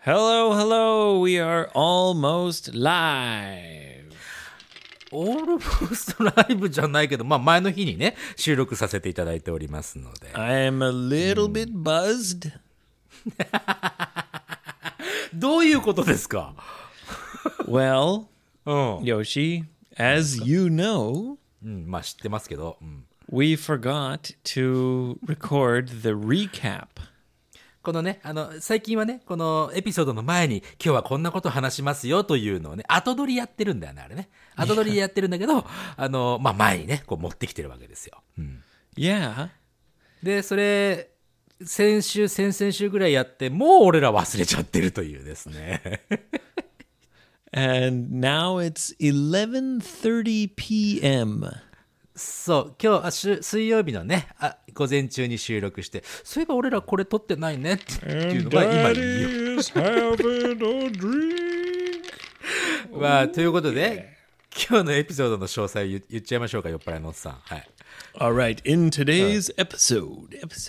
Hello, hello. We are almost live. オールモストライブじゃないけど、まあ前の日にね、収録させていただいておりますので。 I am a little bit buzzed. どういうことですか？ Well, うん。 Yoshi, as you know, まあ知ってますけど。 we forgot to record the recap. このね、最近はね、このエピソードの前に、今日はこんなこと話しますよというのをね、後撮りやってるんだよね、あれね。後撮りやってるんだけど、まあ前にね、こう持ってきてるわけですよ。 Yeah. で、それ、先々週ぐらいやって、もう俺ら忘れちゃってるというですね。 And now it's 11:30 p.m. そう、今日水曜日のね、午前中に収録して、そういえば俺らこれ撮ってないねっていうのが今言う。 Daddy's having a drink. まあ、ということで、今日のエピソードの詳細を言っちゃいましょうか、酔っ払いのおっさん。はい。 All right, in today's episode,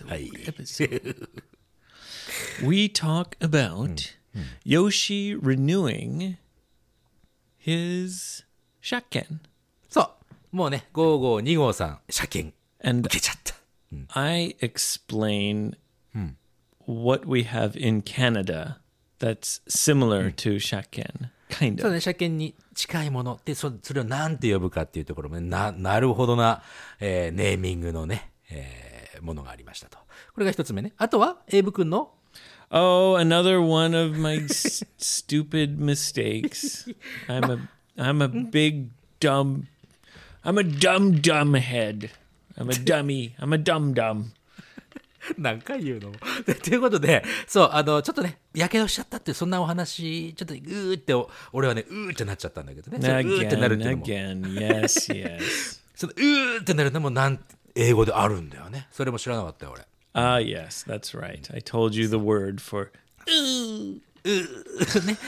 we talk about Yoshi renewing his shakken. そう。もうね、5号、2号さん、車検 And 受けちゃった。 I explain what we have in Canada that's similar to shakken, kind そう of. ね、車検に近いものって、それを何て呼ぶかっていうところもね、なるほどな、ネーミングのね、ものがありましたと。これが一つ目ね。あとは、エイブ君の Oh, another one of my stupid mistakes. I'm a big dumb. I'm a dumb head. I'm a dummy. I'm a dumb. 何回言うのということで、そう、ちょっとね、やけどしちゃったっていう、そんなお話、ちょっとうーって、俺はね、うーってなっちゃったんだけどね。そのうーってなるっていうのも。 Again. Yes, yes. そのうーってなるのも英語であるんだよね。それも知らなかったよ、俺。 Ah, yes, that's right. I told you the word for. ね。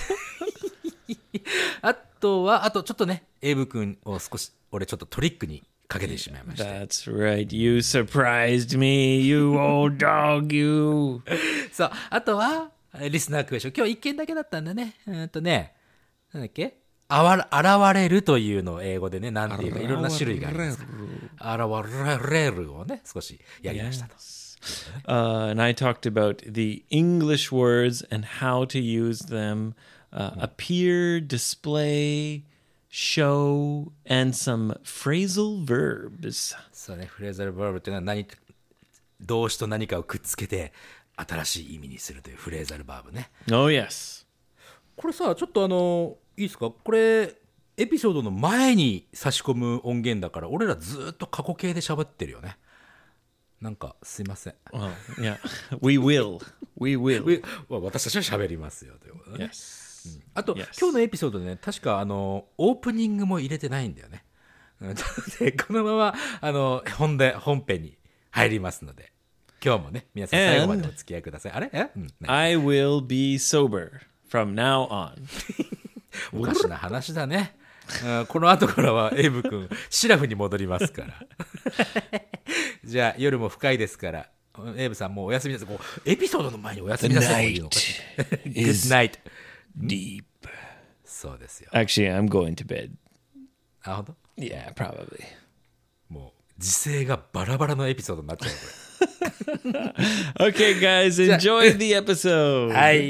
あとちょっとね、エイブ君を少し、俺ちょっとトリックにかけてしまいました。 That's right. You surprised me, you old dog, you. そう、あとは、リスナークエスチョン。今日一件だけだったんだね。なんだっけ現れるというのを英語でね、なんていうか、いろんな種類があります。現れるをね、少しやりましたと。 And I talked about the English words and how to use them. Appear, display, show, and some phrasal verbs. そうね、フレーザルバーブっていうのは動詞と何かをくっつけて新しい意味にするというフレーザルバーブね。 Oh, yes. これさ、ちょっといいですか？これ、エピソードの前に差し込む音源だから、俺らずっと過去形で喋ってるよね。なんか、すいません。 Oh, yeah. We will. We will. 私たちは喋りますよということね。 Yes. あと、 Yes. 今日のエピソードでね、確かオープニングも入れてないんだよね。でこのまま本編に入りますので、今日もね、皆さん最後までお付き合いください。あれ I will be sober from now on. おかしな話だね。この後からはエイブ君シラフに戻りますからじゃあ夜も深いですからエイブさんもうお休みです。エピソードの前にお休みなさい。 The night Good night. Deep. そうですよ。 Actually, I'm going to bed. あ、本当？ Yeah, probably. もう時勢がバラバラのエピソードになっちゃうこ Okay, guys, enjoy the episode. れ。はい。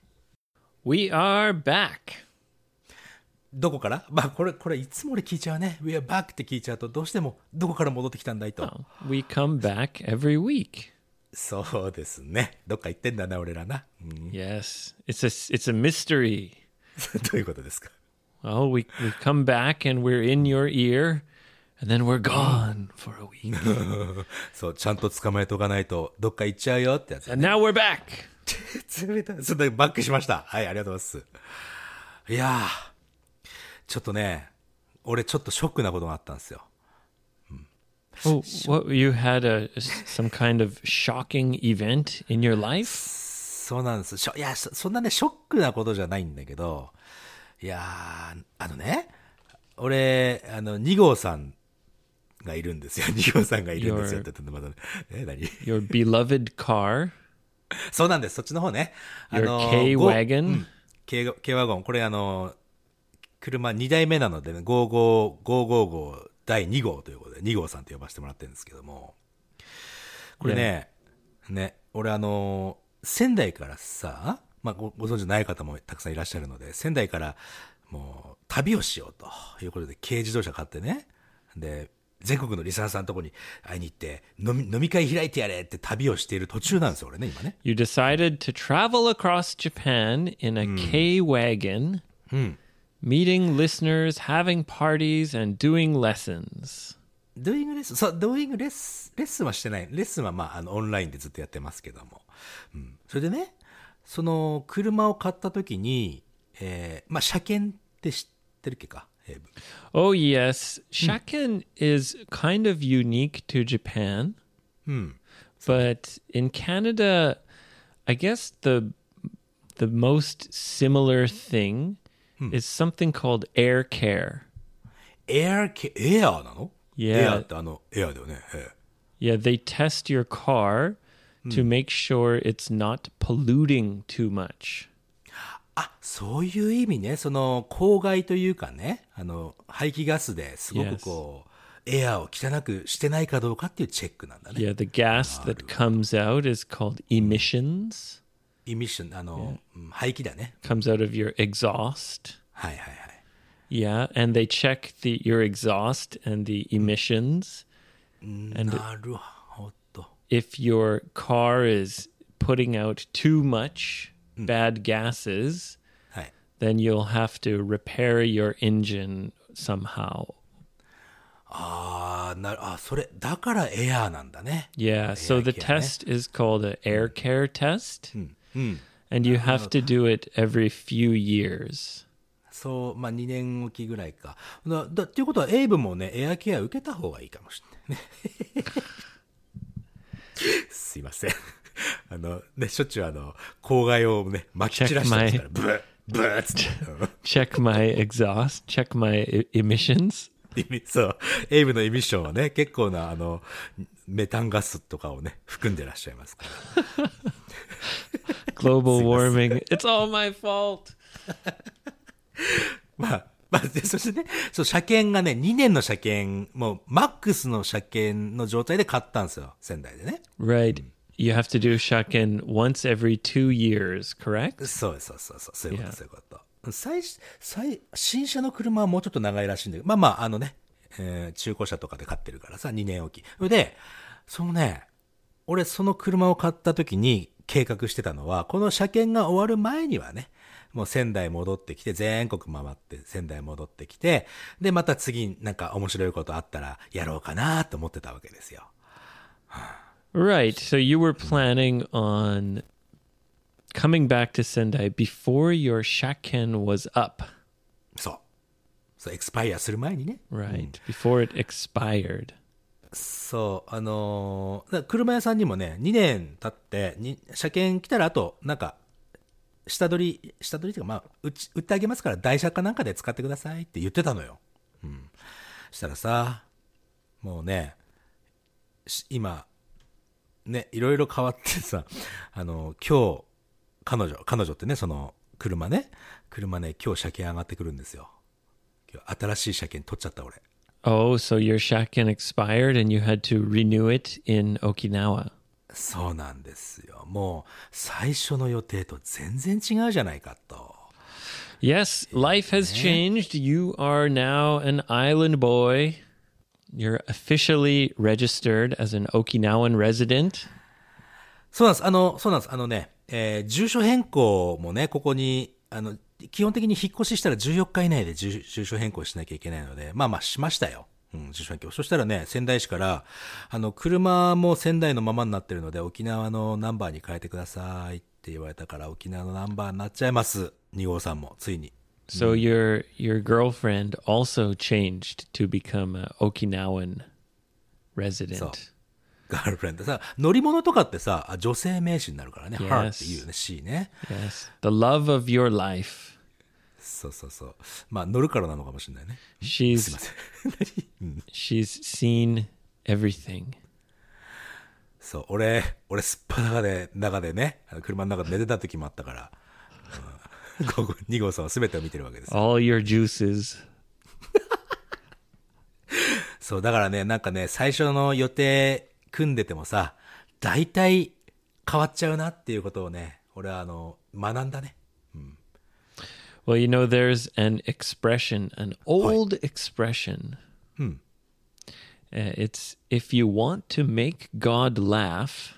We are back. どこから？まあこれいつも俺聞いちゃうね。We are back って聞いちゃうとどうしてもどこから戻ってきたんだいと。 Oh, we come back every week. そうですね。どっか行ってんだな俺らな。 Yes, it's a mystery. どういうことですか？ Well, we come back and we're in your ear, and then we're gone for a week. そうちゃんと捕まえとかないとどっか行っちゃうよってやつ。 And now we're back. 冷たい。それでバックしました。はい、ありがとうございます。いやー、ちょっとね、俺ちょっとショックなことがあったんですよ。 Oh, what you had some kind of shocking event in your life? そうなんです。いや、そんなね、ショックなことじゃないんだけど、いやー、ね、俺、2号さんがいるんですよ。2号さんがいるんですよって言ってまだね。何？ Your beloved car? そうなんです。そっちの方ね。 Your K-Wagon? K ワゴン。これ車2台目なので、ね、555第2号ということで、2号さんと呼ばせてもらってるんですけども。これね、俺仙台からさ、まあご存知ない方もたくさんいらっしゃるので、仙台からもう旅をしようということで、軽自動車買ってね。で、全国のリスナーさんのところに会いに行って、飲み会開いてやれって旅をしている途中なんですよ、俺ね、今ね。 You decided to travel across Japan in a K-Wagon, meeting listeners, having parties, and doing lessons. ドゥイングレッスン、そう、ドゥイングレッスンはしてない。レッスンはまあ、オンラインでずっとやってますけども。それでね、その、車を買った時に、まあ、車検って知ってるっけか、 Oh, yes. Shaken is kind of unique to Japan. But in Canada, I guess the most similar thing is something called air care. エアなの Yeah. エアってエアだよね。 Yeah, they test your car to make sure it's not polluting too much. あ、そういう意味ね。その、公害というかね、排気ガスですごくこう、エアを汚くしてないかどうかっていうチェックなんだね。 Yeah, the gas that comes out is called emissions. エミッション、排気だね。 Comes out of your exhaust. はいはいはい。 Yeah, and they check your exhaust and the emissions. And なるほど。 if your car is putting out too much bad gases, はい。 then you'll have to repair your engine somehow. それ、だからエアなんだね。 Yeah, so the test is called an air care test. And you have to do it every few years. そう、まあ2年おきぐらいか。っていうことは、エイブもね、エアケア受けた方がいいかもしれないね。すいません。ね、しょっちゅう公害をね、撒き散らしてますから、ブーっつって。 Check my exhaust, check my emissions. そう、エイブのエミッションはね、結構なメタンガスとかをね、含んでらっしゃいますから。 Global warming. It's all my fault. まあ、そしてね、そう、車検がね、2年の車検、もう、マックスの車検の状態で買ったんですよ、仙台でね。 Right. You have to do shaken once every 2 years, correct? そういうこと、そういうこと。新車の車はもうちょっと長いらしいんだけど、まあ、中古車とかで買ってるからさ、2年おき。で、俺その車を買った時に計画してたのは、この車検が終わる前にはね、もう仙台戻ってきて、全国回って仙台戻ってきて、で、また次なんか面白いことあったらやろうかなと思ってたわけですよ。 Right. So you were planning on coming back to Sendai before your shaken was up. そう、エクスパイアする前にね。 Right. Before it expired. そう、車屋さんにもね、2年経って、車検来たらあと、なんか、下取りっていうか、まあ、売ってあげますから、台車かなんかで使ってくださいって言ってたのよ。したらさ、もうね、今、ね、いろいろ変わってさ、今日、彼女ってね、その、車ね、今日車検上がってくるんですよ。今日、新しい車検取っちゃった、俺。 Oh, so your shaken expired and you had to renew it in Okinawa. そうなんですよ。もう、最初の予定と全然違うじゃないかと。 Yes, life has changed. You are now an island boy. You're officially registered as an Okinawan resident. そうなんです。住所変更もね、ここに、基本的に引っ越ししたら14日以内で住所変更しなきゃいけないので、まあしましたよ。住所変更。そしたらね、仙台市から、車も仙台のままになってるので、沖縄のナンバーに変えてくださいって言われたから、沖縄のナンバーになっちゃいます。2号さんも、ついに。 So your girlfriend also changed to become an Okinawan resident. そう。ガールフレンドさ、乗り物とかってさ、女性名詞になるからね。 Yes. her っていうよね、she ね。 Yes. The love of your life. そう。まあ、乗るからなのかもしれないね。すいません。 She's seen everything. そう、俺すっぱ中でね、車の中で寝てた時もあったから、2号さんは全てを見てるわけです。 All your juices. そう、だからね、なんかね、最初の予定組んでてもさ、大体変わっちゃうなっていうことをね、俺は学んだね。 Well, you know, there's an expression, an old expression. It's if you want to make God laugh,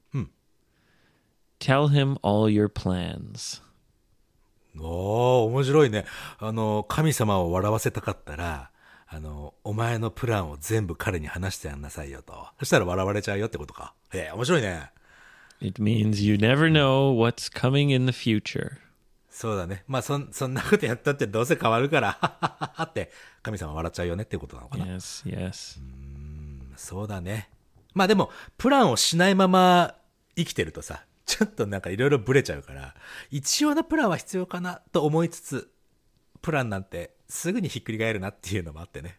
tell him all your plans. おー、面白いね。神様を笑わせたかったら、お前のプランを全部彼に話してやんなさいよと。そしたら笑われちゃうよってことか。面白いね。 It means you never know what's coming in the future. そうだね。まあそんなことやったってどうせ変わるから、ははははって神様笑っちゃうよねっていうことなのかな。 Yes, yes. そうだね。まあでも、プランをしないまま生きてるとさ、ちょっとなんかいろいろブレちゃうから、一応のプランは必要かなと思いつつ、プランなんてすぐにひっくり返るなっていうのもあってね。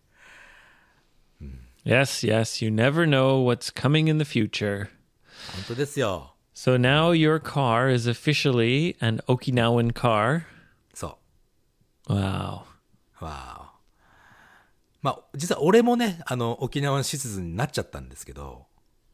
Yes, yes. You never know what's coming in the future. 本当ですよ。 So now your car is officially an Okinawan car. そ Wow. う。わあ。まあ、実は俺もね、沖縄のシチズンになっちゃったんですけど、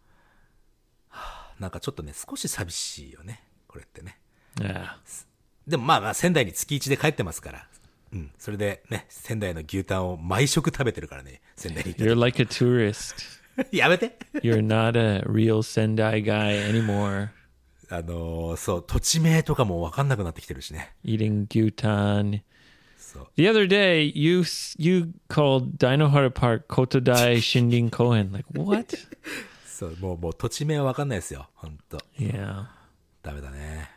なんかちょっとね、少し寂しいよね。これってね。 Yeah. でもまあまあ、仙台に月1で帰ってますから。それでね、仙台の牛タンを毎食食べてるからね、仙台に行って。 You're like a tourist. やめて You're not a real Sendai guy anymore. そう、土地名とかもわかんなくなってきてるしね。 Eating gyutan. そう。 The other day, you called Dinohara Park Kotodai Shindin Kohen. Like, what? そう、もう土地名はわかんないですよ。ほんと。 Yeah. ダメだね。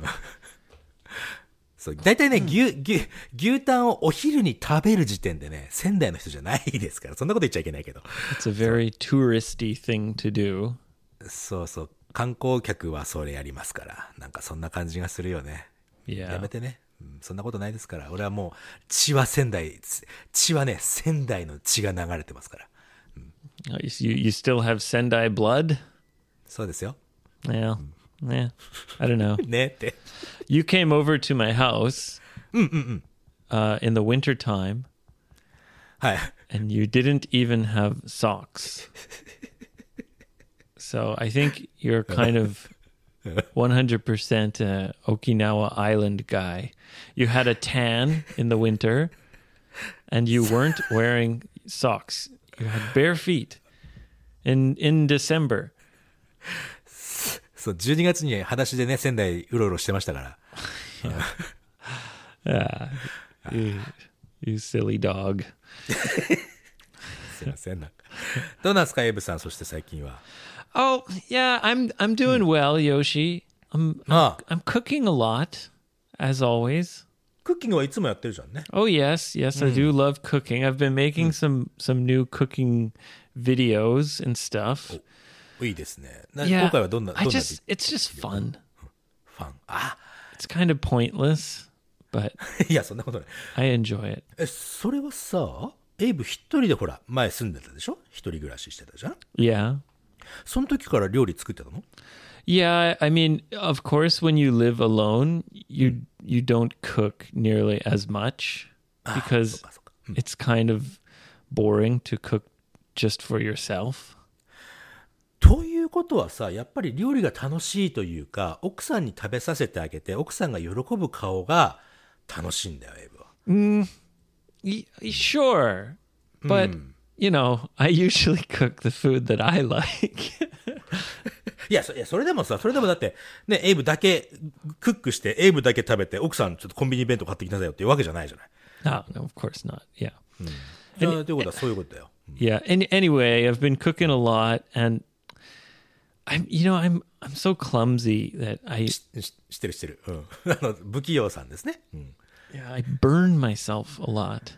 そう、大体ね、牛タンをお昼に食べる時点でね、仙台の人じゃないですから、そんなこと言っちゃいけないけど。 It's a very touristy thing to do. そうそう、観光客はそれやりますから、なんかそんな感じがするよね。や Yeah. めてね。そんなことないですから。俺はもう、血はね、仙台の血が流れてますから。 You still have Sendai blood? そうですよ。 Yeah. Yeah. I don't know. ねって。 You came over to my house in the wintertime, はい。 and you didn't even have socks. So I think you're kind of 100% Okinawa Island guy. You had a tan in the winter, and you weren't wearing socks. You had bare feet in December. そう、12月に裸足でね、仙台うろうろしてましたから。 You silly dog. すいません、なんか。どうなんですか、エイブさん、そして最近は。 Oh, yeah, I'm doing well, Yoshi. I'm ああ、 I'm cooking a lot, as always. クッキングはいつもやってるじゃんね。 Oh yes, yes, I do love cooking. I've been making some new cooking videos and stuff. いいですね。今 Yeah, 回はどんな it's just fun. ファン。あ、 It's kind of pointless, but いや、そんなことない。 I enjoy it. それはさ、エイブ一人でほら、前住んでたでしょ？一人暮らししてたじゃん？ Yeah. その時から料理作ってたの？ Yeah, I mean, of course when you live alone, you don't cook nearly as much because そうか。 it's kind of boring to cook just for yourself. ということはさ、やっぱり料理が楽しいというか、奥さんに食べさせてあげて、奥さんが喜ぶ顔が楽しいんだよ、エイブは。 Sure, but you know, I usually cook the food that I like. いや、それでもだって、ね、エイブだけクックして、エイブだけ食べて、奥さんちょっとコンビニ弁当買ってきなさいよっていうわけじゃないじゃない。 No, of course not. Yeah. じゃあ、ということはそういうことだよ。 Yeah. Anyway, I've been cooking a lot, and I'm so clumsy that I 知ってる。不器用さんですね。 I burn myself a lot.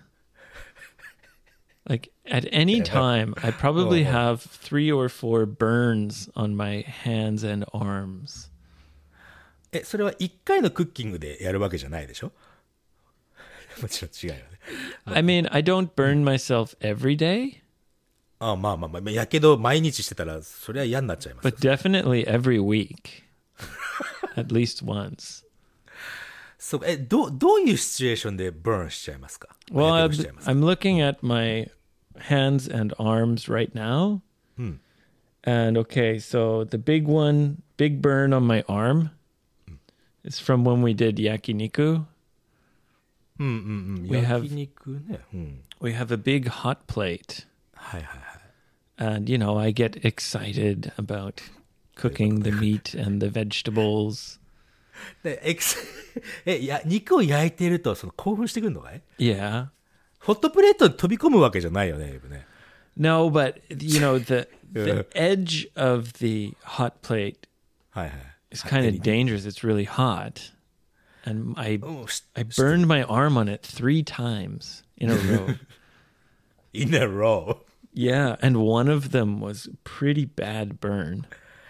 Like at any time, I probably have 3 or 4 burns on my hands and arms. それは一回のクッキングでやるわけじゃないでしょ？もちろん違うよね。 I mean, I don't burn myself every day, あ、まあまあまあ、やけど毎日してたら、それは嫌になっちゃいますよ。 but definitely every week, at least once. そう、どういうシチュエーションでブーンしちゃいますか？ Well, や I'm, けどしちゃいますか？ I'm looking at my hands and arms right now. And okay, so the big burn on my arm is from when we did yakiniku. うんうんうん。 We have- 焼肉ね。うん。 We have a big hot plate. はいはいはい。 And, I get excited about cooking the meat and the vegetables. で、肉を焼いてると、興奮してくるのかい？ Yeah. ホットプレートに飛び込むわけじゃないよね、エイブね。 No, but, the edge of the hot plate はいはい。 is kind of dangerous. It's really hot. And I うん、 I burned my arm on it 3 times in a row. in a row. Yeah, and one of them was pretty bad burn.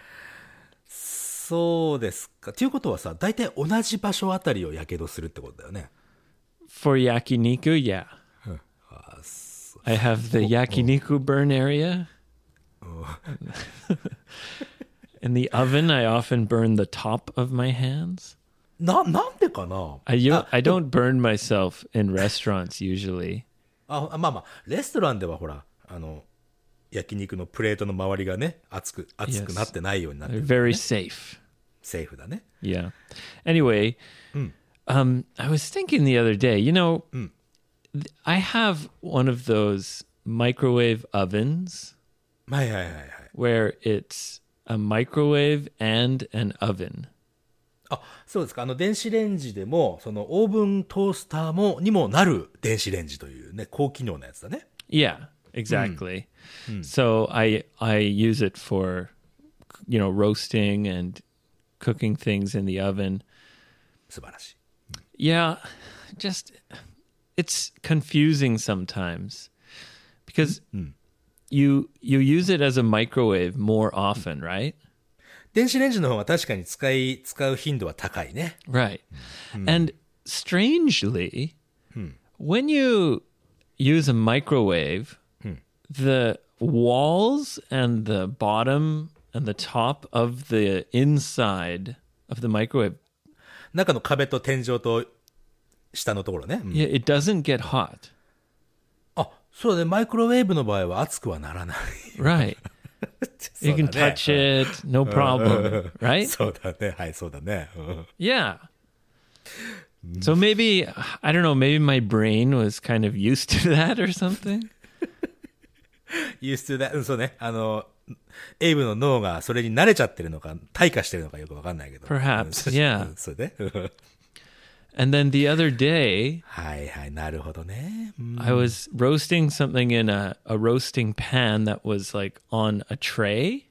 そうですか。ということはさ、大体同じ場所あたりをやけどするってことだよね。 For yakiniku, yeah. I have the yakiniku burn area. In the oven, I often burn the top of my hands. なんでかな？ I don't burn myself in restaurants usually. まあまあ、レストランではほら、焼肉のプレートの周りがね、熱くなってないようになってる、 They're ね。 very safe. セーフだね。 Yeah. Anyway, I was thinking the other day, I have one of those microwave ovens はいはいはいはい。 where it's a microwave and an oven. あ、そうですか。電子レンジでも、オーブントースターにもなる電子レンジというね、高機能なやつだね。 Yeah, exactly. So I use it for, roasting and cooking things in the oven. 素晴らしい。 Yeah, just it's confusing sometimes because you use it as a microwave more often, right? 電子レンジの方が確かに使う頻度は高いね。 Right. And strangely, when you use a microwave, the walls and the bottom and the top of the inside of the microwave, 中の壁と天井と下のところね。うん、 yeah, it doesn't get hot. あ、そうだね。マイクロウェーブの場合は熱くはならない。 Right. You can touch it, no problem, right? そうだね。はい、そうだね。うん Yeah. So maybe, I don't know, maybe my brain was kind of used to that or something. used to that. そうね。エイブの脳がそれに慣れちゃってるのか、退化してるのかよくわかんないけど。 Perhaps, yeah. そうね。 And then the other day, はいはい、なるほどね。うん I was roasting something in a roasting pan that was like on a tray.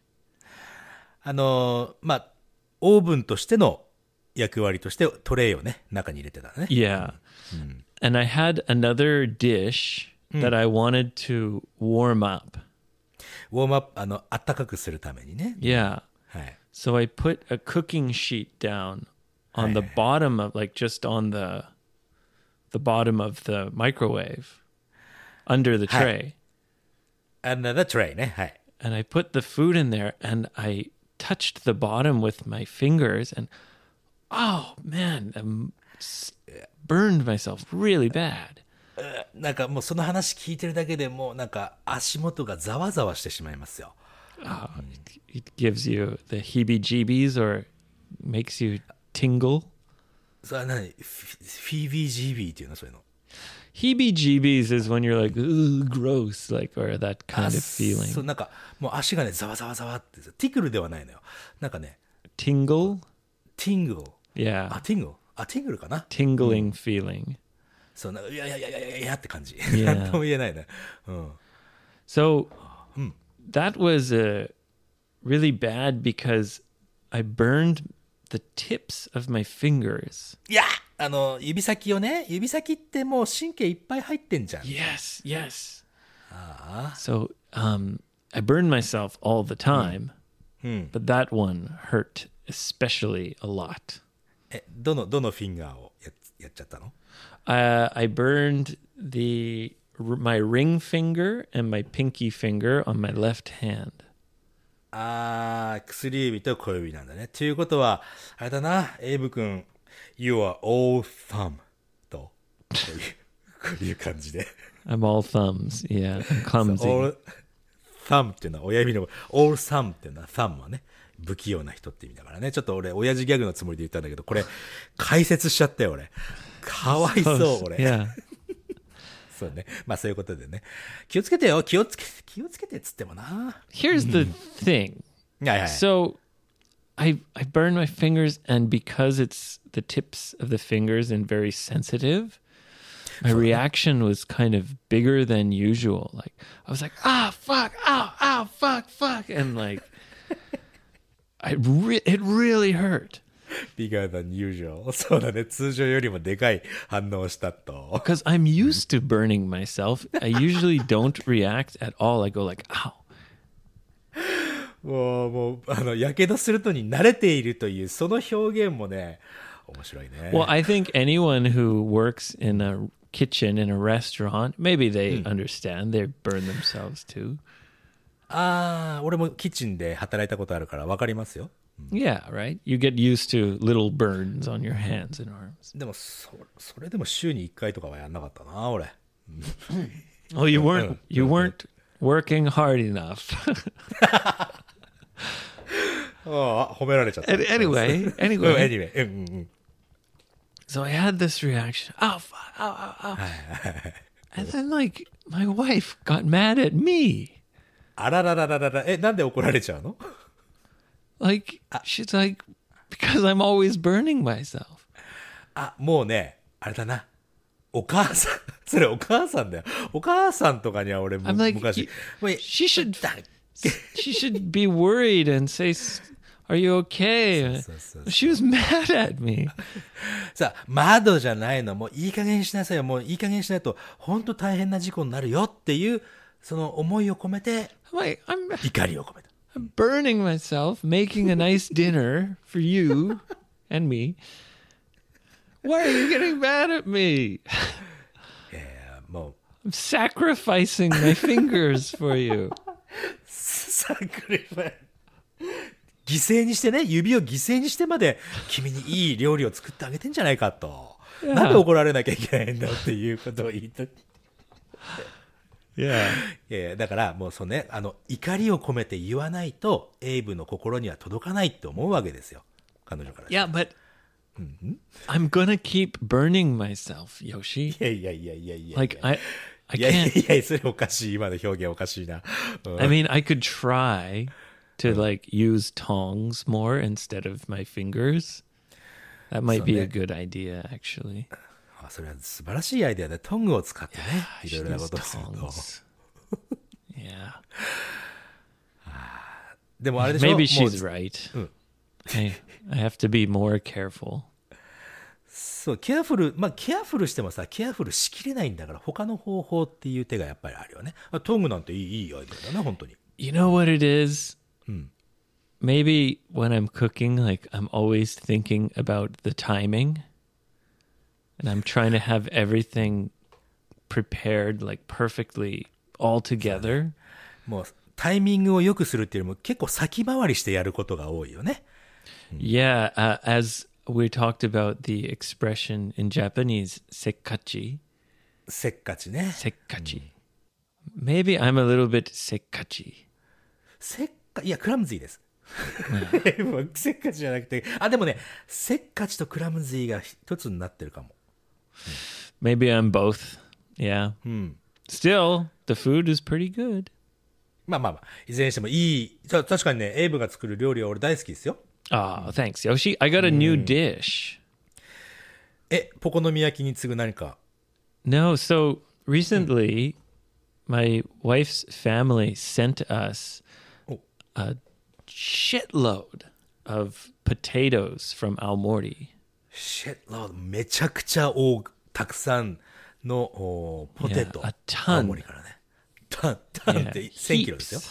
まあ、オーブンとしての役割としてトレイをね、中に入れてたね。 Yeah. And I had another dish that I wanted to warm up. ウォームアップ、あったかくするためにね。 Yeah. はい。 So I put a cooking sheet down on the bottom of, like, just on the bottom of the microwave under the tray. Another tray ね。はい。 And I put the food in there and I touched the bottom with my fingers and oh man, burned myself really bad. なんかもうその話聞いてるだけでもうなんか足元がざわざわしてしまいますよ。 It gives you the heebie-jeebies or makes you tingle. それは何？フィービージービーっていうのそういうの。 Heebie-jeebies is when you're like, ooh, gross, like, or that kind of そう feeling. なんかもう足がねざわざわざわってティクルではないのよ。なんかね Tingle? ティングル。 Yeah. ティングル。ティングルかな。 Tingling feeling. そうなんかいやいやって感じ。 Yeah. なんとも言えないね。うん。 So that was really bad because I burned the tips of my fingers. いや指先をね、指先ってもう神経いっぱい入ってんじゃん。 Yes, yes. So I burned myself all the time, but that one hurt especially a lot. どのフィンガーをやっちゃったの？ I burned the my ring finger and my pinky finger on my left hand. 薬指と小指なんだね。ということは、あれだな、エイブ君、You are all thumb と、こういう感じで。 I'm all thumbs. Yeah, I'm clumsy. all thumb っていうのは親指の、all thumb っていうのは thumb はね、不器用な人って意味だからね。ちょっと俺、親父ギャグのつもりで言ったんだけど、これ、解説しちゃったよ、俺。かわいそう、俺。 Yeah. そうね。まあそういうことでね。気をつけてよ。気をつけてっつってもな。 Here's the thing. はいはい。 So I burn my fingers, and because it's the tips of the fingers and very sensitive, my reaction was kind of bigger than usual. Like I was like, fuck, ow, fuck, and like it really hurt. Bigger than usual. そうだね。通常よりもでかい反応をしたと。 Because I'm used to burning myself. I usually don't react at all. I go like, ow. もう、やけどするとに慣れているという、その表現もね、面白いね。 Well, I think anyone who works in a kitchen in a restaurant, maybe they understand. They burn themselves too. 俺もキッチンで働いたことあるから分かりますよ。 Yeah, right? You get used to little burns on your hands and arms. でもそれでも週に1回とかはやんなかったな、俺。 Oh, you weren't working hard enough. 褒められちゃった。 Anyway. Anyway. So I had this reaction. Ow, fuck, ow. And then like my wife got mad at me. あらららららら。なんで怒られちゃうの？ Like, she's like, because I'm always burning myself. もうね、あれだな。お母さん。それお母さんだよ。お母さんとかには俺も I'm like, 昔。 she should be worried and say, are you okay? そう。 She was mad at me. さあ、窓じゃないの。もういい加減にしなさいよ。もういい加減にしないと、本当大変な事故になるよっていう、その思いを込めて、怒りを込めた。 I'm burning myself, making a nice dinner for you and me. Why are you getting mad at me? もう I'm sacrificing my fingers for you. サクリファイ犠牲にしてね、指を犠牲にしてまで君にいい料理を作ってあげてんじゃないかと。なんで怒られなきゃいけないんだっていうことを言いたい。 Yeah. だからもうそうね、怒りを込めて言わないとエイブの心には届かないって思うわけですよ、彼女から。 Yeah, but I'm gonna keep burning myself, Yoshi. いや Like I いや can't. それおかしい。今の表現おかしいな。 I mean, I could try to like use tongs more instead of my fingers. That might be a good idea, actually. それは素晴らしいアイデアでトングを使ってね、いろいろな Use ことをすると。 tongs. Yeah. でもあれでしょ Maybe she's right. I have to be more careful. そう、ケアフルしてもさ、ケアフルしきれないんだから、他の方法っていう手がやっぱりあるよね。トングなんていいアイデアだな、本当に。 You know what it is? Maybe when I'm cooking, like I'm always thinking about the timing. And I'm trying to have everything prepared like perfectly all together. もうタイミングを良くするっていうよりも結構先回りしてやることが多いよね。 Yeah, as we talked about the expression in Japanese, sekkachi. せっかちね。 Sekkachi. Maybe I'm a little bit sekkachi. いや、クラムズィーです。せっかちじゃなくて、でもね、せっかちとクラムズィーが一つになってるかも。 Maybe I'm both. Yeah. Still, the food is pretty good. まあ、いずれにしてもいい。確かにね、エイブが作る料理は俺大好きですよ。 Oh, thanks, Yoshi. I got a new dish. ポコのみ焼きに次ぐ何か。 No, so recently, my wife's family sent us a shitload of potatoes from Aomori. めちゃくちゃたくさんのポテト。 Yeah, a ton. 青森からね。タンって1000キロですよ。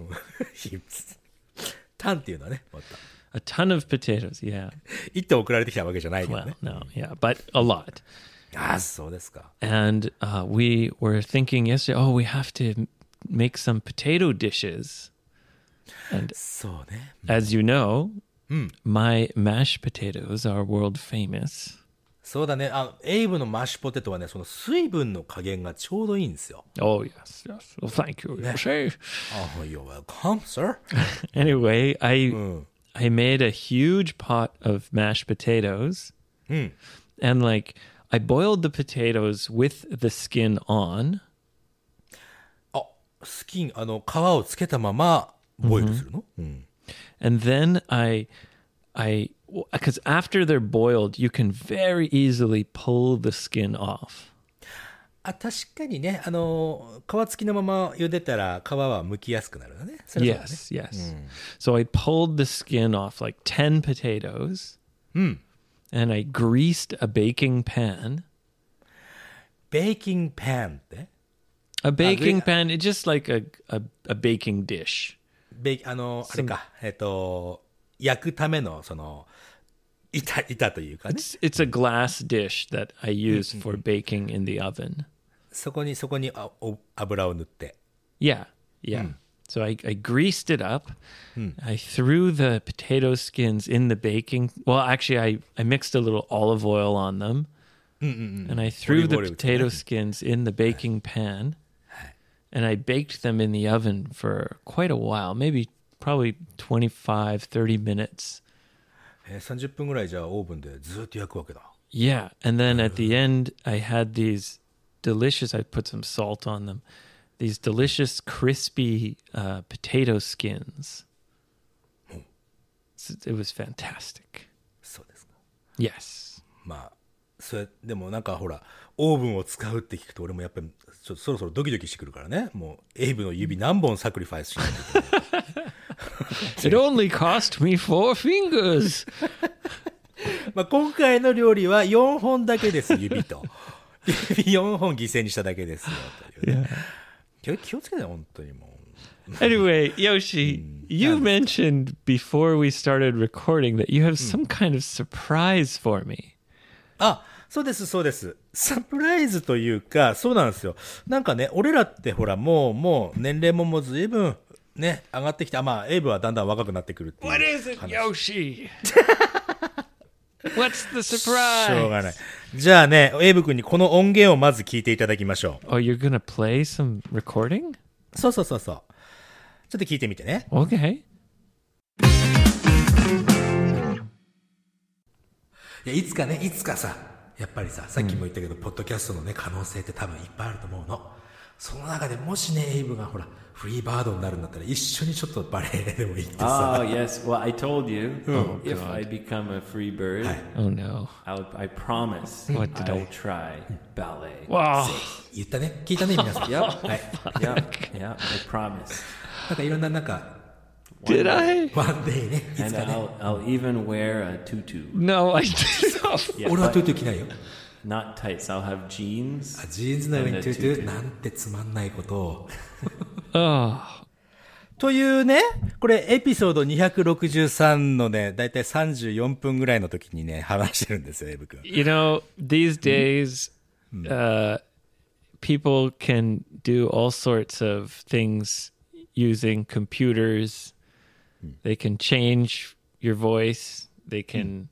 タンっていうのはね、 A ton of potatoes, yeah. 一頭送られてきたわけじゃないけどね。 Well, no, yeah, but a lot. あ、そうですか。 And we were thinking yesterday, oh, we have to make some potato dishes. And そうね。 as you know, my mashed potatoes are world famous. そうだね。エイブのマッシュポテトはね、その水分の加減がちょうどいいんですよ。 Oh, yes, yes. Well, thank you, Yoshi. You're welcome, sir. Anyway, I made a huge pot of mashed potatoes. And like, I boiled the potatoes with the skin on. スキン、皮をつけたままボイルするの、 And then because after they're boiled, you can very easily pull the skin off. 確かにね、皮付きのまま茹でたら皮は剥きやすくなるよね。それはそうだね。 Yes. So I pulled the skin off like 10 potatoes. And I greased a baking pan. ベーキングパンって A baking pan, it's just like a baking dish. あれか、焼くためのその板というかね。 It's a glass dish that I use for baking in the oven. そこに油を塗って。 Yeah. So I greased it up. I threw the potato skins in the baking. Well, actually, I mixed a little olive oil on them. And I threw the potato skins in the baking pan. And I baked them in the oven for quite a while, probably 25, 30 minutes. 30分ぐらいじゃあオーブンでずっと焼くわけだ。 Yeah. And then at the end, I had these delicious, I put some salt on them, these delicious crispy potato skins. It was fantastic. そうですか。 Yes. まあ、それでもなんかほら、オーブンを使うって聞くと俺もやっぱりそろそろドキドキしてくるからね。もうエイブの指何本サクリファイスしないといけない。 It only cost me 4 fingers. まあ今回の料理は4本だけです、指と。指4本犠牲にしただけですよというね。気をつけて本当にもう。 Anyway, Yoshi, you mentioned before we started recording that you have some kind of surprise for me. そうです、そうです。サプライズというか、そうなんですよ。なんかね、俺らってほら、もう年齢もずいぶんね、上がってきて、まあ、エイブはだんだん若くなってくるっていう。 What is it, Yoshi? What's the surprise? しょうがない。じゃあね、エイブ君にこの音源をまず聞いていただきましょう。 Oh, you're gonna play some recording? そう。ちょっと聞いてみてね。 Okay. いつかさ、やっぱりさっきも言ったけど、ポッドキャストのね、可能性って多分いっぱいあると思うの。その中でもしね、エイブがほら、フリーバードになるんだったら、一緒にちょっとバレエでも行ってさ。 Oh, yes. Well, I told you, if I become a free bird, oh no, I promise I'll try ballet. Wow. 言ったね。聞いたね、皆さん。 Yep. はい。Yeah, I promise. なんかいろんななんか、 Did I? One day ね。いつ And かね。 I'll even wear a tutu. No, I did not. Yeah, 俺はトゥートゥー着ないよ。 Not tights. I'll have jeans. ジーンズの上にトゥートゥーなんてつまんないことを。 Oh. というね、これエピソード263のね、だいたい34分ぐらいの時にね、話してるんですよ、エブ君。 You know, these days, people can do all sorts of things using computers. They can change your voice. They can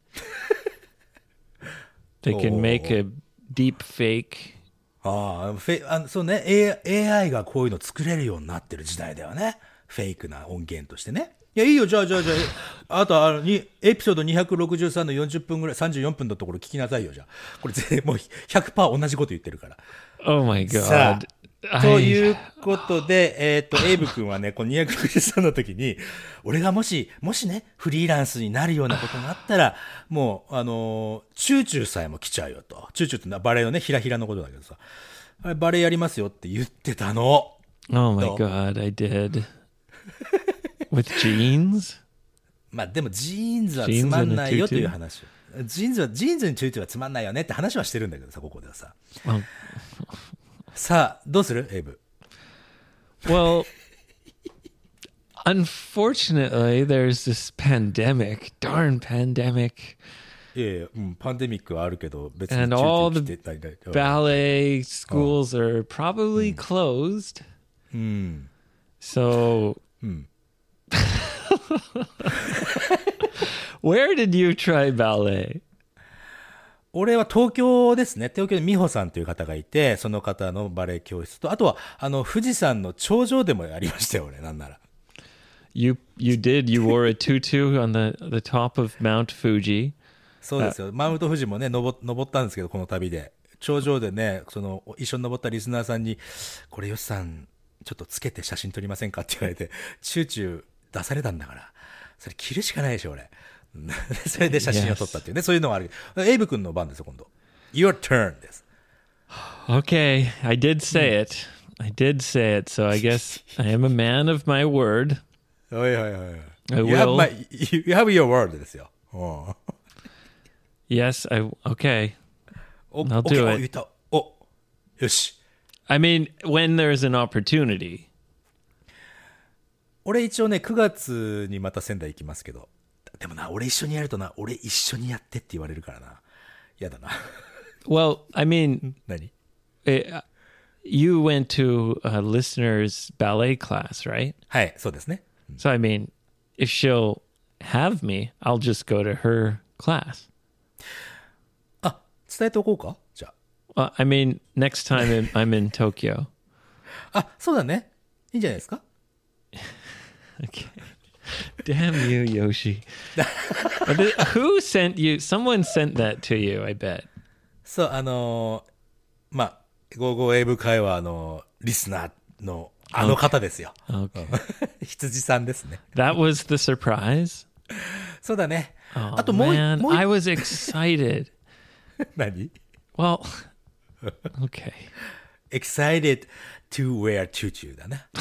make a deep fake. そうね、AI がこういうの作れるようになってる時代だよね。フェイクな音源としてね。いや、いいよ、じゃあ、あとエピソード263の40分ぐらい、34分のところ聞きなさいよ、じゃあ。これもう 100% 同じこと言ってるから。 Oh my God. さあ、ということで、エイブ君はね、この263の時に、俺がもしね、フリーランスになるようなことがあったら、もう、チューチューさえも来ちゃうよと。チューチューってバレエのね、ひらひらのことだけどさ、あれバレエやりますよって言ってたの。 Oh my God, I did. With jeans? まあでもジーンズはつまんないよという話。ジーンズにチューチューはつまんないよねって話はしてるんだけどさ、ここではさ。さあ、どうするエイブ。 Well, unfortunately, there's this pandemic, darn pandemic. パンデミックはあるけど、別に And チュ all ーチュ the ー来てない。 ballet schools are probably closed. うん。 So, うん。 where did you try ballet? 俺は東京ですね。東京で美穂さんという方がいて、その方のバレエ教室と、あとは、富士山の頂上でもやりましたよ、俺、なんなら。 You did. You wore a tutu on the top of Mount Fuji. そうですよ。マウント富士もね、登ったんですけど、この旅で。頂上でね、一緒に登ったリスナーさんに、これ、よしさん、ちょっとつけて写真撮りませんかって言われて、チューチュー出されたんだから、それ着るしかないでしょ、俺。それで写真を撮ったっていうね、そういうのがある。エイブ君の番ですよ、今度。Your turn です。 Okay, I did say it. I did say it. So I guess I am a man of my word. おいおいおい。 I You have, will. you have your word ですよ。 Yes, okay. お I'll OK do お it. 言った。お、よし。 I mean, when there's an opportunity. 俺一応ね、9月にまた仙台行きますけど。でもな、俺一緒にやるとな、俺一緒にやってって言われるからな。やだな。 Well, I mean, 何 you went to a listener's ballet class, right? はい、そうですね。 So, I mean, if she'll have me, I'll just go to her class. あ、伝えておこうかじゃあ。 I mean, next time I'm in Tokyo. あ、そうだね。いいんじゃないですか Okay. Damn you, Yoshi. Who sent you? Someone sent that to you, I bet. そう、まあ、55英語会話のリスナーの方ですよ。 Okay. 羊さんですね。 That was the surprise? そうだね。 Oh, あともう man, I was excited. 何 Well, okay. ?excited to wear tutu だね。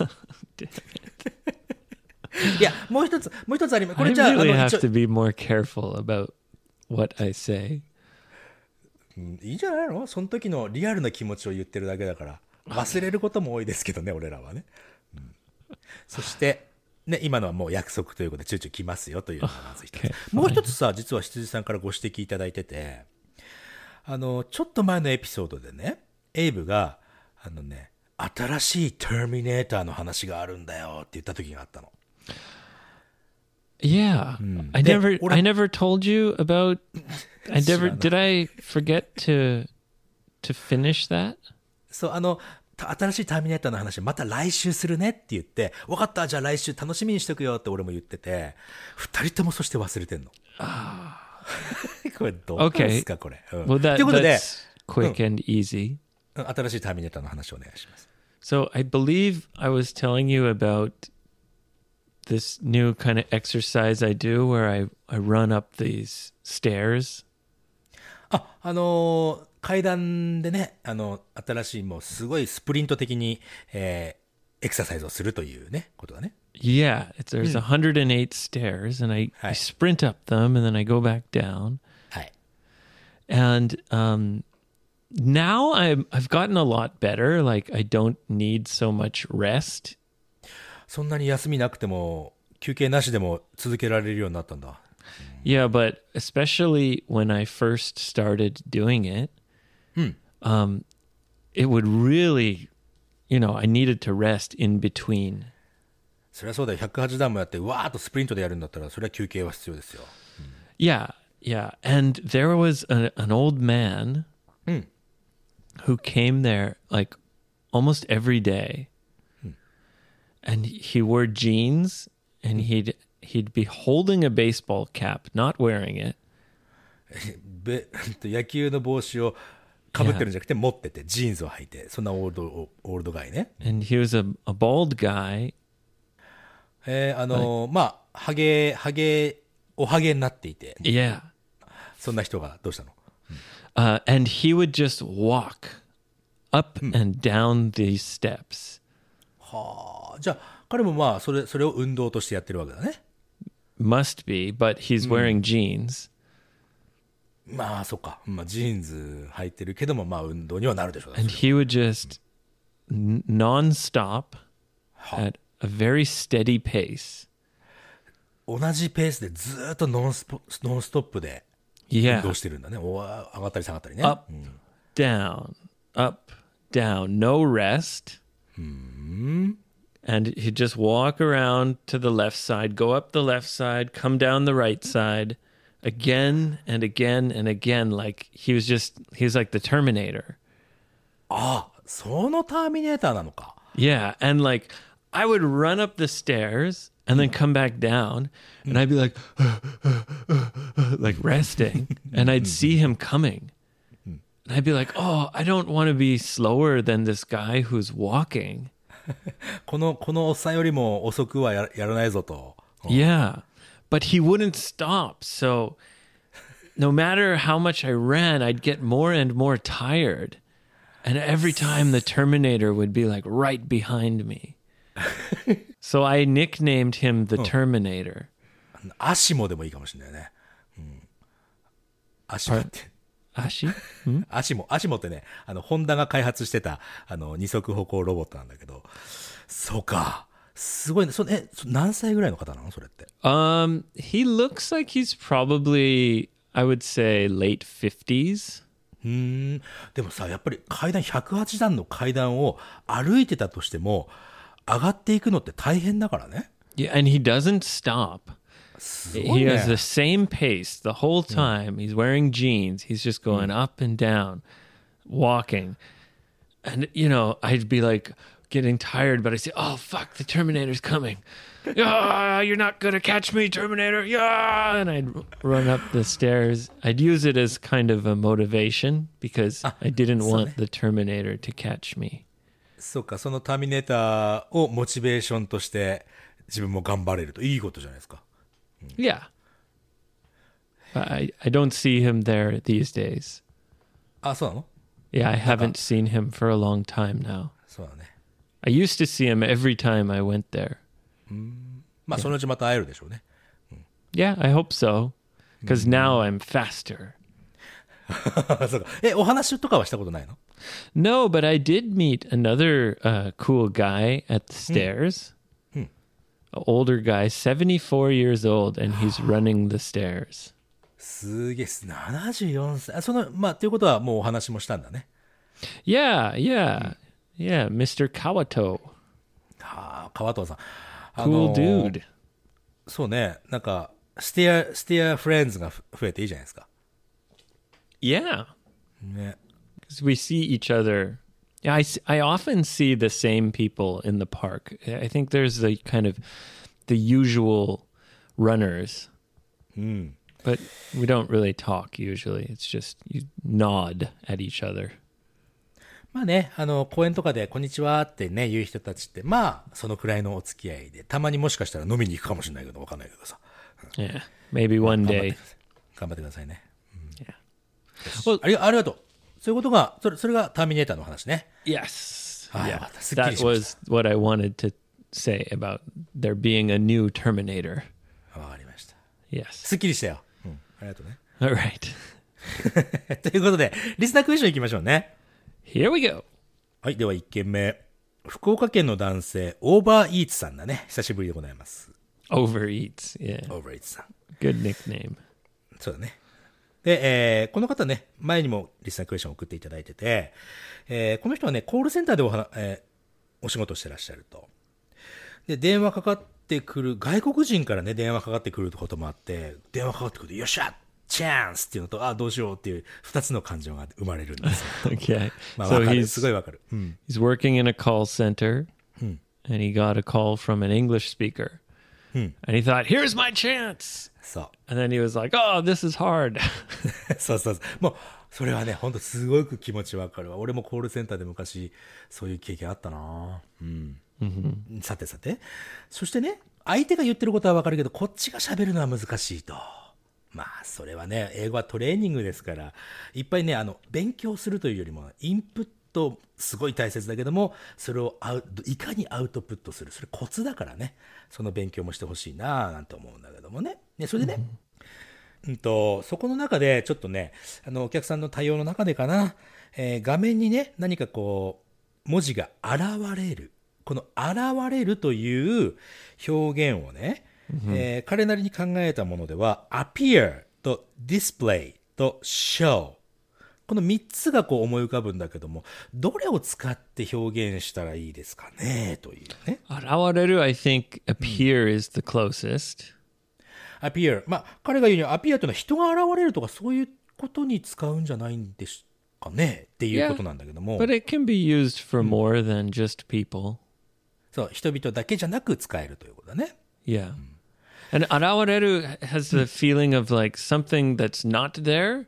いや、もう一つあります。こ I れじゃあ、 really have 一応 to be more careful about what I say. いいんじゃないのその時のリアルな気持ちを言ってるだけだから。忘れることも多いですけどね、俺らはね。そして、ね、今のはもう約束ということで、チューチュー来ますよというのがまず一つ。 Okay, もう一つさ、実は羊さんからご指摘いただいてて、ちょっと前のエピソードでね、エイブが、新しいターミネーターの話があるんだよって言った時があったの。 Yeah. I never told you about did I forget to finish that? そう、新しいターミネーターの話また来週するねって言って、分かった、じゃあ来週楽しみにしとくよって俺も言ってて、二人ともそして忘れてんの。これどうなんですか、これ。 Well, ということで、 that's quick and easy. 新しいターミネーターの話をお願いします。 So I believe I was telling you about this new kind of exercise I do where I run up these stairs. 階段でね、新しいもうすごいスプリント的に、エクササイズをするというね、ことだね。 Yeah, there's 108 stairs, and I sprint up them, and then I go back down. はい。 And now I've gotten a lot better. Like I don't need so much rest. そんなに休みなくても、休憩なしでも続けられるようになったんだ。 Yeah, but especially when I first started doing it, it would really, I needed to rest in between. そりゃそうだよ。108段もやって、わーっとスプリントでやるんだったら、それは休憩は必要ですよ。 Yeah. And there was an old man who came there like almost every day. And he wore jeans, and he'd be holding a baseball cap, not wearing it. 野球の帽子をかぶってるんじゃなくて持ってて、ジーンズを履いて、そんなオールドガイね。 And he was a bald guy. まあ、おはげになっていて、 Yeah. そんな人がどうしたの？ And he would just walk up and down these steps. はあ、じゃあ彼もまあそれを運動としてやってるわけだね。 Must be, but he's wearing jeans. まあそっか、まあジーンズ履いてるけどもまあ運動にはなるでしょうね。 And he would just non-stop at a very steady pace. 同じペースでずっとノンストップで Yeah. 動してるんだね。上がったり下がったりね。 Up, down, up, down. No rest. And he'd just walk around to the left side, go up the left side, come down the right side, again and again and again. Like he was like the Terminator. あ、そのターミネーターなのか。 Yeah. And like I would run up the stairs and then come back down and I'd be like, like resting. And I'd see him coming. And I'd be like, oh, I don't want to be slower than this guy who's walking. このおっさんよりも遅くはやらないぞと。 Yeah. But he wouldn't stop. So no matter how much I ran, I'd get more and more tired. And every time the Terminator would be like right behind me. So I nicknamed him the Terminator. アシモでもいいかもしれないね。アシモって。 Ashi? アシモってね、ホンダが開発してた、二足歩行ロボットなんだけど。そうか。すごいね。何歳ぐらいの方なのそれって。 He looks like he's probably, I would say, late 50s. でもさ、やっぱり108段の階段を歩いてたとしても、上がっていくのって大変だからね。 Yeah, and he doesn't stop. He has the same pace the whole time. He's wearing jeans. He's just going up and down, walking. And, you know, I'd be like getting tired, but I'd say, oh, fuck, the Terminator's coming. Yeah, you're not going to catch me, Terminator. Yeah. And I'd run up the stairs. I'd use it as kind of a motivation because I didn't want the Terminator to catch me. そうか、そのターミネーターをモチベーションとして自分も頑張れるといいことじゃないですか。 Yeah. I don't see him there these days. あ、そうなの？ Yeah, I haven't seen him for a long time now. そうだね。 I used to see him every time I went there. まあ、そのうちまた会えるでしょうね。 Yeah, I hope so. Because now I'm faster. そうか。お話とかはしたことないの？ No, but I did meet another cool guy at the stairs. An older guy, 74 years old, and he's running the stairs. すげえ、74歳。まあ、ということはもうお話もしたんだね。 Yeah, Mr. Kawato. はあ、川藤さん。 Cool dude. そうね、なんか、ステアフレンズが増えていいじゃないですか。 Yeah. ね。 Because we see each other. Yeah, I often see the same people in the park. I think there's the kind of the usual runners. But we don't really talk usually. It's just you nod at each other. まあね、公園とかでこんにちはってね、言う人たちって、まあ、そのくらいのお付き合いで、たまにもしかしたら飲みに行くかもしれないけど、わかんないけどさ。 Yeah, maybe one day. 頑張ってくださいね。 Well, ありがとう。そういうことが、それがターミネーターの話ね。 yes. Yeah, Yeah, すっきり that しました。 was what I wanted to say about there being a new Terminator. わかりました。 Yes. すっきりしたよ。ありがとうね。 All right. ということで、リスナークエスチョン行きましょうね。 Here we go. はい、では1件目。福岡県の男性、オーバーイーツさんだね。久しぶりでございます。 Overeats. Yeah. オーバーイーツさん。 Good nickname. そうだね。で、この方ね、前にもリスナークエスチョン送っていただいてて、この人はね、コールセンターでお仕事してらっしゃると。で、電話かかってくる、外国人からね、電話かかってくることもあって、電話かかってくると、よっしゃチャンスっていうのと、どうしようっていう二つの感情が生まれるんですよ。 Okay. まあ、 So わかる。すごいわかる。 he's working in a call center and he got a call from an English speaker. And he thought, here's my chance. そう。 And then he was like, oh, this is hard. そうそうそう。もう、それはね、ほんとすごく気持ちわかるわ。俺もコールセンターで昔、そういう経験あったな。さてさて。そしてね、相手が言ってることはわかるけど、こっちが喋るのは難しいと。まあ、それはね、英語はトレーニングですから、いっぱいね、勉強するというよりも、インプットすごい大切だけども、それをいかにアウトプットする。それコツだからね、その勉強もしてほしいなぁなんて思うんだけどもね。それでね、そこの中でちょっとね、お客さんの対応の中でかな、画面にね、何かこう、文字が現れる。この現れるという表現をね、彼なりに考えたものでは、appear と display と show。この3つがこう思い浮かぶんだけども、どれを使って表現したらいいですかねというね。 現れる I think appear is the closest. appear。まあ、彼が言うには appear というのは人が現れるとかそういうことに使うんじゃないんですかねっていうことなんだけども。 But it can be used for more than just people. そう、人々だけじゃなく使えるということだね。 Yeah. And 現れる has the feeling of like something that's not there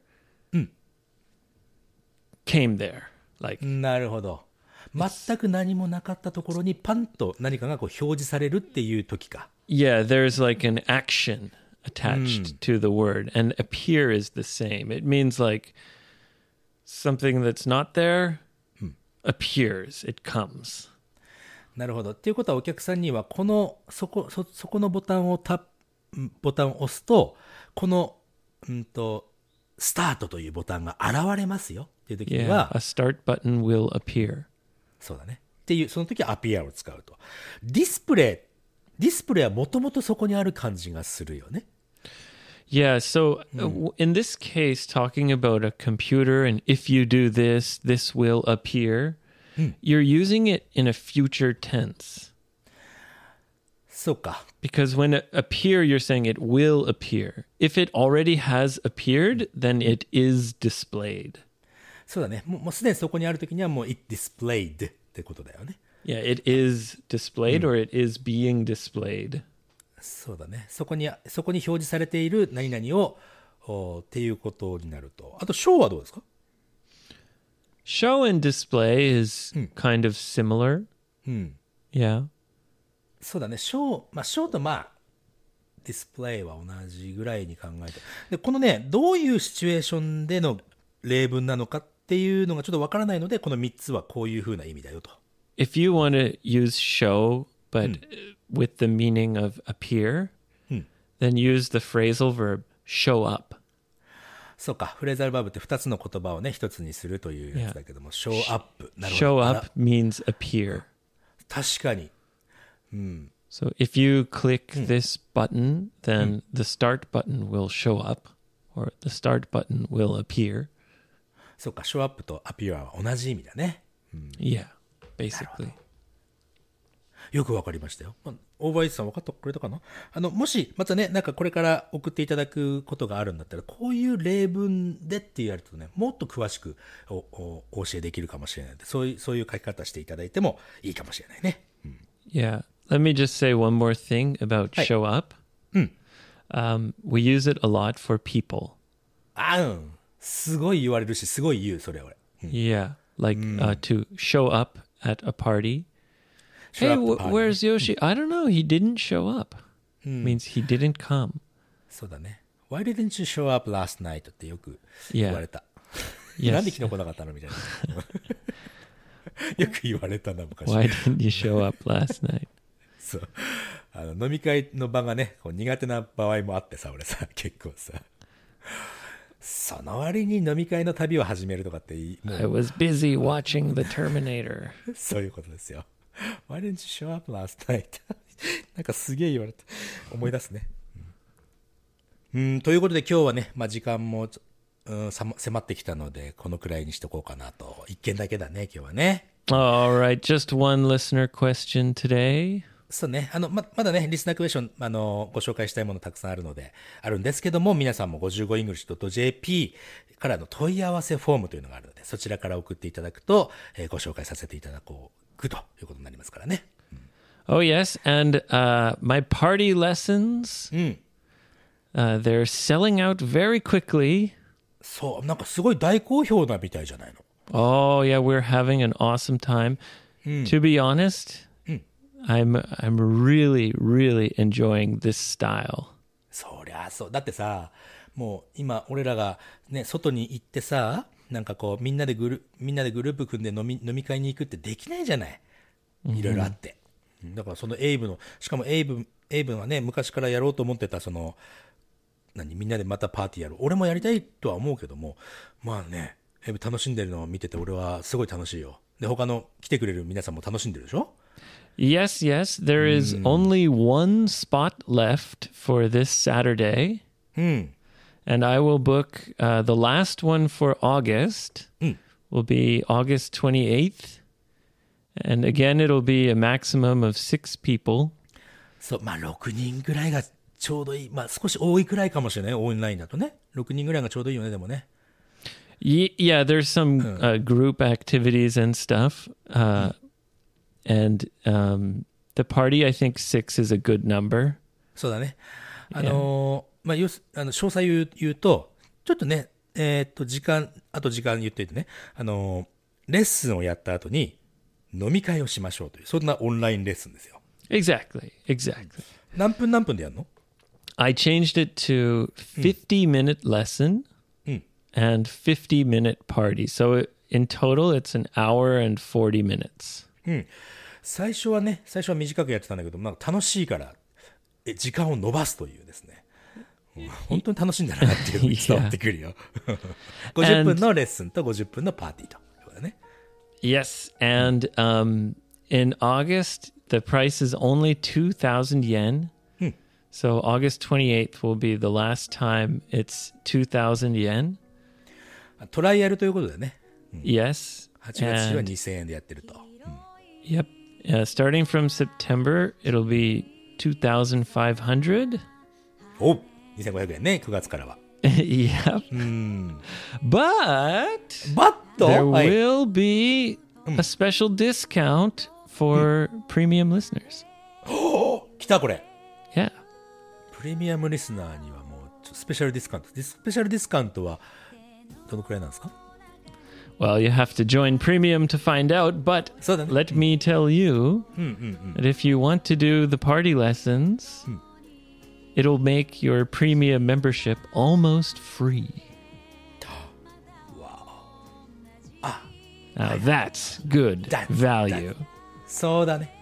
came there. Like なるほど。全く何もなかったところにパンと何かがこう表示されるっていう時か。 yeah, there's like an action attached to the word, and appear is the same. It means like something that's not there appears, it comes. なるほど。っていうことはお客さんにはこのそこのボタンを押すとこのスタートというボタンが現れますよっていう時に Yeah, は、 a start button will appear. そうだね。っていうその時はアピアを使うと。ディスプレイはもともとそこにある感じがするよね。 Yeah, so in this case, talking about a computer and if you do this, this will appear, you're using it in a future tense. そうか。 Because when it appear, you're saying it will appear. If it already has appeared, then it is displayed. そうだね。もうすでにそこにある時にはもう it displayed ってことだよね。 Yeah, it is displayed or it is being displayed. そうだね。そこに表示されている何々をっていうことになると。あと show はどうですか？ Show and display is kind of similar. Yeah. そうだね。show とディスプレイは同じぐらいに考えて。で、このね、どういうシチュエーションでの例文なのかっていうのがちょっとわからないので、この3つはこういう風な意味だよと。 If you want to use show, but with the meaning of appear, then use the phrasal verb show up. そうか。フレーザルバーブって2つの言葉をね、1つにするというやつだけども、show up。なるほど。 Show up means appear. 確かに。 So if you click this button, then the start button will show up, or the start button will appear. そうか。show up と appear は同じ意味だね。 Yeah, basically. よくわかりましたよ。オーバーイーツさん分かってくれたかな？もし、またね、なんかこれから送っていただくことがあるんだったら、こういう例文でってやるとね、もっと詳しくお教えできるかもしれないので、そういう書き方していただいてもいいかもしれないね。 Yeah. Let me just say one more thing about show up. We use it a lot for people. すごい言われるし、すごい言う、それ俺。 Yeah, like to show up at a party. Show Hey, up the party. where's Yoshi? I don't know. He didn't show up. Means he didn't come. そうだね。Why didn't you show up last night? ってよく言われた。 Yes. なんで昨日来なかったのみたいな。よく言われたな、昔。 Why didn't you show up last night? そう。飲み会の場がね、こう苦手な場合もあってさ、俺さ、結構さ。その割に飲み会の旅を始めるとかっても I was busy watching The Terminator. そういうことですよ。Why didn't you show up last night? なんかすげえ言われた。思い出すね。ということで今日はね、時間も、迫ってきたので、このくらいにしとこうかなと。一件だけだね、今日はね。 All right, just one listener question today. そうね。まだね、リスナークエスチョン、ご紹介したいものたくさんあるんですけども、皆さんも 55english.jp からの問い合わせフォームというのがあるので、そちらから送っていただくと、ご紹介させていただこうということになりますからね。 Oh, yes. And my party lessons, they're selling out very quickly. そう、なんかすごい大好評なみたいじゃないの。 Oh, yeah, we're having an awesome time. To be honest, I'm really, really enjoying this style. そりゃそう。だってさ、もう今俺らがね、外に行ってさ、なんかこうみんなでグループ組んで飲み会に行くってできないじゃない。いろいろあって。だからそのしかもエイブはね、昔からやろうと思ってたみんなでまたパーティーやる。俺もやりたいとは思うけども、まあね、エイブ楽しんでるのを見てて俺はすごい楽しいよ。で、他の来てくれる皆さんも楽しんでるでしょ？ Yes, there is only one spot left for this Saturday. And I will book the last one for August will be August 28th. And again, it'll be a maximum of 6 people. そう、まあ6人ぐらいがちょうどいい。まあ少し多いくらいかもしれない。オンラインだとね。6人ぐらいがちょうどいいよね、でもね。 Yeah, there's some group activities and stuff. And the party, I think 6 is a good number. そうだね。まあ、詳細言うと、ちょっとね、時間言っていてね、レッスンをやった後に飲み会をしましょうという、そんなオンラインレッスンですよ。 Exactly. 何分でやるの？ I changed it to 50-minute lesson and 50-minute party. So in total, it's an hour and 40 minutes. 最初は短くやってたんだけど、まあ、楽しいから時間を延ばすというですね。本当に楽しいんだなっていうのが伝わってくるよ。50分のレッスンと50分のパーティーということだね。 Yes, and in August, the price is only 2,000 yen. So August 28th will be the last time it's 2,000 yen. トライアルということでね。 Yes. 8月は2000円でやってると。 Yep. Starting from September, it'll be 2,500. お、2500円ね、9月からは。 Yep. But there will be a special discount for premium listeners. 来たこれ。 Yeah. プレミアムリスナーにはもうスペシャルディスカウント。スペシャルディスカウントはどのくらいなんですか？ Well, you have to join premium to find out, but let me tell you that if you want to do the party lessons, it'll make your premium membership almost free. Wow. Now that's good value. そうだね。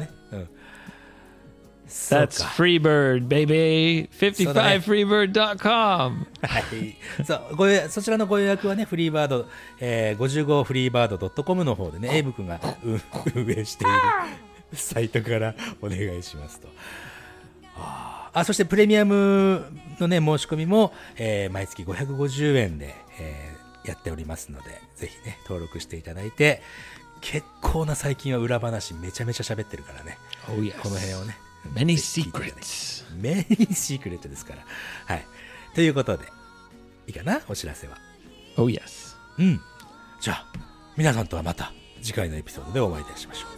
That's Freebird, baby. 55freebird.com. はい。そちらのご予約はね、フリーバード、55freebird.com の方でね、エイブ君が運営しているサイトからお願いしますと。そしてプレミアムのね、申し込みも、毎月550円で、やっておりますので、ぜひね、登録していただいて、結構な最近は裏話めちゃめちゃ喋ってるからね。 Oh, yes. この辺をね。 Many secrets. Many secrets ですから。はい。ということで、いいかな？お知らせは。 Oh, yes. じゃあ、皆さんとはまた次回のエピソードでお会いいたしましょう。